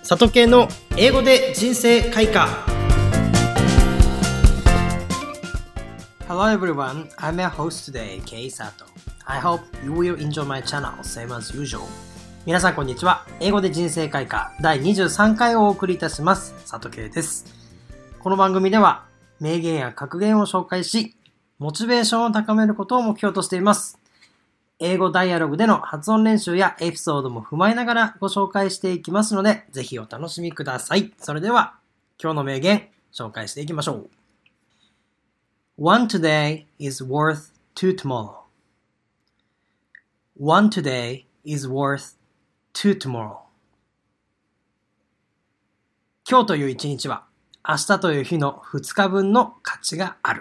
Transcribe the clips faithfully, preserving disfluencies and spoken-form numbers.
里系の英語で人生開花。 Hello everyone, I'm your host today, Kei Sato. I hope you will enjoy my channel, same as usual. 皆さんこんにちは。英語で人生開花だいにじゅうさんかいをお送りいたします。里系です。この番組では名言や格言を紹介し、モチベーションを高めることを目標としています。英語ダイアログでの発音練習やエピソードも踏まえながらご紹介していきますので、ぜひお楽しみください。それでは、今日の名言、紹介していきましょう。One today is worth two tomorrow. One today is worth two tomorrow. 今日という一日は、明日という日の二日分の価値がある。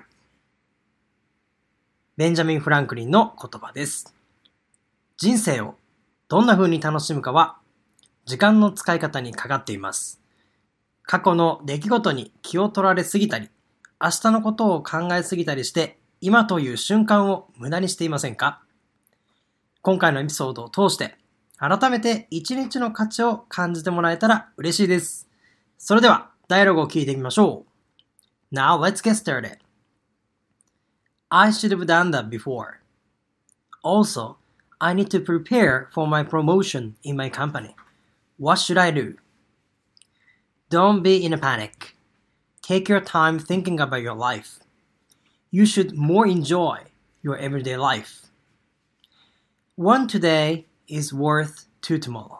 ベンジャミン・フランクリンの言葉です。人生をどんな風に楽しむかは時間の使い方にかかっています。過去の出来事に気を取られすぎたり、明日のことを考えすぎたりして、今という瞬間を無駄にしていませんか？今回のエピソードを通して、改めて一日の価値を感じてもらえたら嬉しいです。それでは、ダイアログを聞いてみましょう。Now let's get started. I should have done that before. Also, I need to prepare for my promotion in my company. What should I do? Don't be in a panic. Take your time thinking about your life. You should more enjoy your everyday life. One today is worth two tomorrow.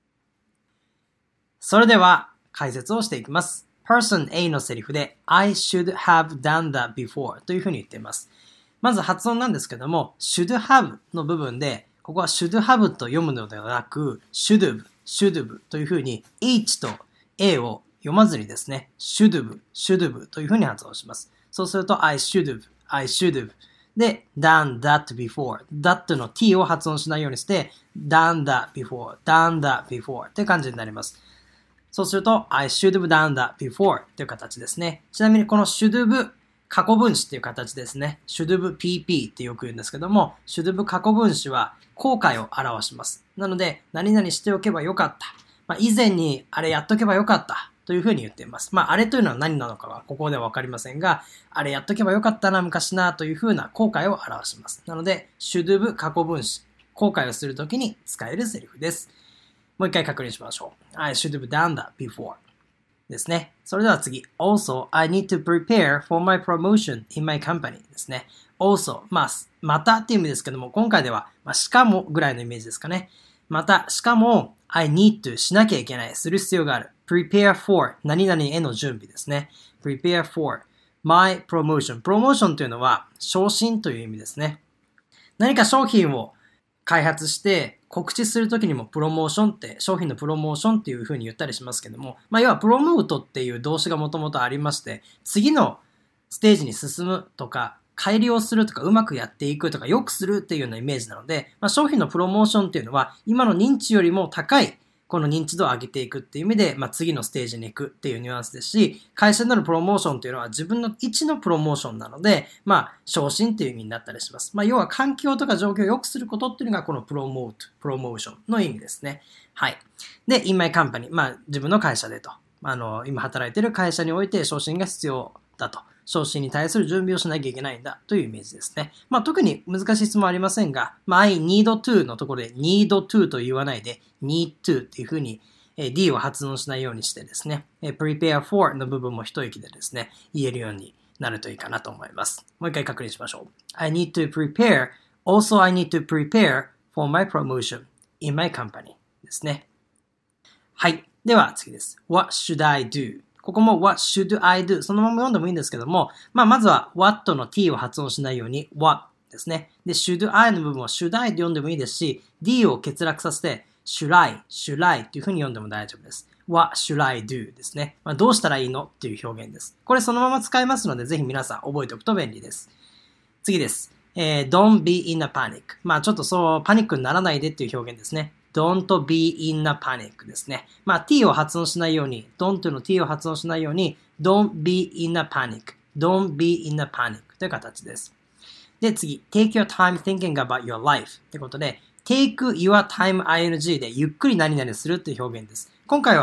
それでは解説をしていきます。Person A のセリフで I should have done that before というふうに言っています。まず発音なんですけども should have の部分でここは should have と読むのではなく should have, should have というふうに H と A を読まずにですね should have, should have というふうに発音します。そうすると I should have, I should have で done that before that の t を発音しないようにして done that before, done that before という感じになります。そうすると I should have done that before という形ですね。ちなみにこの should have 過去分詞っていう形ですね。should have ピーピー ってよく言うんですけども should have 過去分詞は後悔を表します。なので何々しておけばよかった。まあ、以前にあれやっとけばよかったというふうに言っています。まああれというのは何なのかはここではわかりませんがあれやっとけばよかったな昔なというふうな後悔を表します。なので should have 過去分詞後悔をするときに使えるセリフです。もう一回確認しましょう。I should have done that before. ですね。それでは次。Also, I need to prepare for my promotion in my company ですね。Also, まあ、またっていう意味ですけども、今回では、まあ、しかもぐらいのイメージですかね。また、しかも、I need to しなきゃいけない、する必要がある。prepare for 何々への準備ですね。prepare for my promotion. プロモーションというのは、昇進という意味ですね。何か商品を開発して告知するときにもプロモーションって商品のプロモーションっていう風に言ったりしますけども、まあ要はプロモートっていう動詞がもともとありまして、次のステージに進むとか改良するとかうまくやっていくとか良くするっていうようなイメージなので、まあ、商品のプロモーションっていうのは今の認知よりも高いこの認知度を上げていくっていう意味で、まあ、次のステージに行くっていうニュアンスですし、会社でのプロモーションっていうのは自分の位置のプロモーションなので、まあ、昇進っていう意味になったりします。まあ、要は環境とか状況を良くすることっていうのがこのプロモート、プロモーションの意味ですね。はい。で、in my company、まあ、自分の会社でと、あの、今働いている会社において昇進が必要だと。昇進に対する準備をしなきゃいけないんだというイメージですね。まあ特に難しい質問はありませんが、まあ I need to のところで need to と言わないで need to っていうふうに D を発音しないようにしてですね、prepare for の部分も一息でですね、言えるようになるといいかなと思います。もう一回確認しましょう。I need to prepare, also I need to prepare for my promotion in my company ですね。はい。では次です。What should I do?ここも What should I do? そのまま読んでもいいんですけども、まあまずは What の t を発音しないように What ですね。で、should I の部分は should I で読んでもいいですし、D を欠落させて should I, should I というふうに読んでも大丈夫です。What should I do? ですね。まあ、どうしたらいいのっていう表現です。これそのまま使えますので、ぜひ皆さん覚えておくと便利です。次です。えー、Don't be in a panic. まあちょっとそう、パニックにならないでっていう表現ですね。Don't be in a panic ですね。まあ t を発音しないように、don't の t を発音しないように、don't be in a panic。don't be in a panic という形です。で、次、take your time thinking about your life ってことで、take your time ing でゆっくり何々するっていう表現です。今回は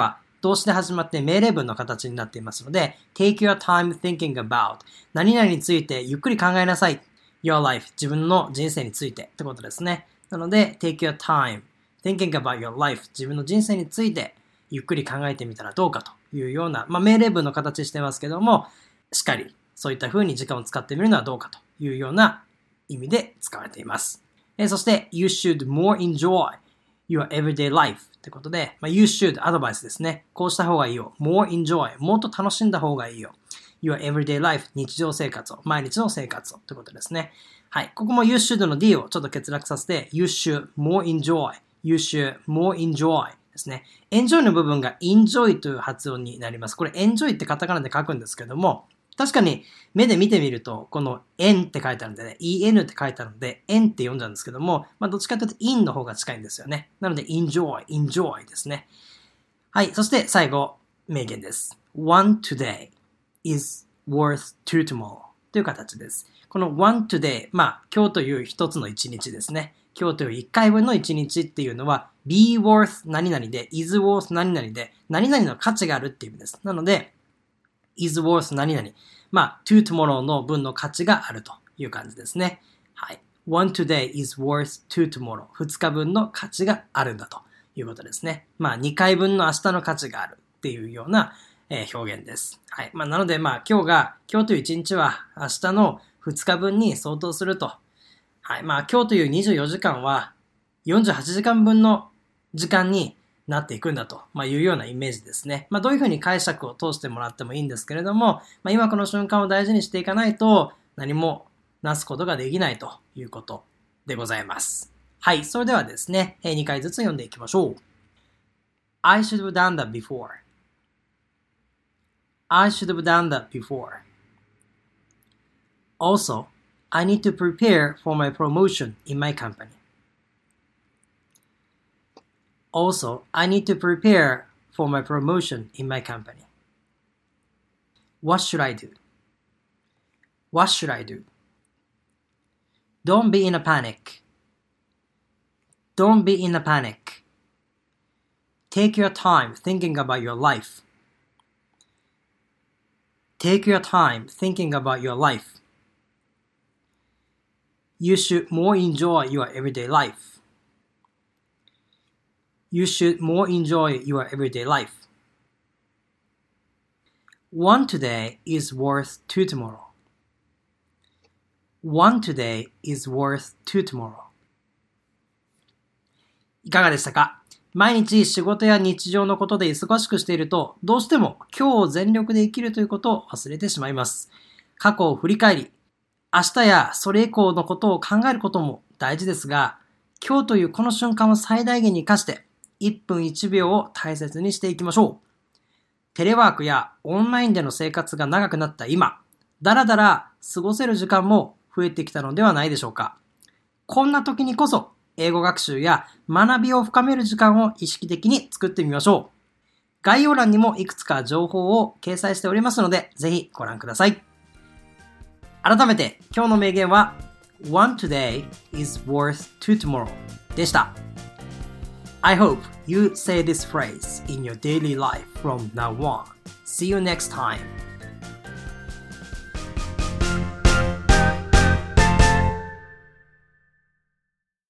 動詞で始まって命令文の形になっていますので、take your time thinking about 何々についてゆっくり考えなさい。your life 自分の人生についてってことですね。なので、take your time thinking about your life 自分の人生についてゆっくり考えてみたらどうかというような、まあ、命令文の形してますけども、しっかりそういった風に時間を使ってみるのはどうかというような意味で使われています。えー、そして、you should more enjoy your everyday life ってことで、まあ、you should アドバイスですね。こうした方がいいよ。more enjoy もっと楽しんだ方がいいよ。your everyday life 日常生活を、毎日の生活をってことですね。はい。ここも you should の D をちょっと欠落させて you should more enjoy you should more enjoy ですね。enjoy の部分が enjoy という発音になります。これ enjoy ってカタカナで書くんですけども、確かに目で見てみると、この en って書いてあるんでね、en って書いてあるので、en って読んじゃうんですけども、まあどっちかというと in の方が近いんですよね。なので enjoy, enjoy ですね。はい。そして最後、名言です。one today is worth two tomorrow という形です。この one today、まあ今日という一つの一日ですね。今日という一回分の一日っていうのは be worth 何々で is worth 何々で何々の価値があるっていう意味です。なのでis worth 何々。まあ、to tomorrow の分の価値があるという感じですね。はい。one today is worth to tomorrow。二日分の価値があるんだということですね。まあ、二回分の明日の価値があるっていうような、えー、表現です。はい。まあ、なので、まあ、今日が、今日という一日は明日の二日分に相当すると。はい。まあ、今日というにじゅうよじかんはよんじゅうはちじかんぶんの時間になっていくんだと、まあ、いうようなイメージですね。まあ、どういうふうに解釈を通してもらってもいいんですけれども、まあ、今この瞬間を大事にしていかないと何もなすことができないということでございます。はい。それではですね、にかいずつ読んでいきましょう。I should have done that before. I should have done that before. Also, I need to prepare for my promotion in my company.Also, I need to prepare for my promotion in my company. What should I do? What should I do? Don't be in a panic. Don't be in a panic. Take your time thinking about your life. Take your time thinking about your life. You should more enjoy your everyday life.You should more enjoy your everyday life. One today is worth two tomorrow. One today is worth two tomorrow. いかがでしたか？毎日仕事や日常のことで忙しくしていると、どうしても今日を全力で生きるということを忘れてしまいます。過去を振り返り、明日やそれ以降のことを考えることも大事ですが、今日というこの瞬間を最大限に活かして、いっぷんいちびょうを大切にしていきましょう。テレワークやオンラインでの生活が長くなった今、だらだら過ごせる時間も増えてきたのではないでしょうか。こんな時にこそ英語学習や学びを深める時間を意識的に作ってみましょう。概要欄にもいくつか情報を掲載しておりますので、ぜひご覧ください。改めて今日の名言は One today is worth two tomorrow でした。I hope you say this phrase in your daily life from now on. See you next time.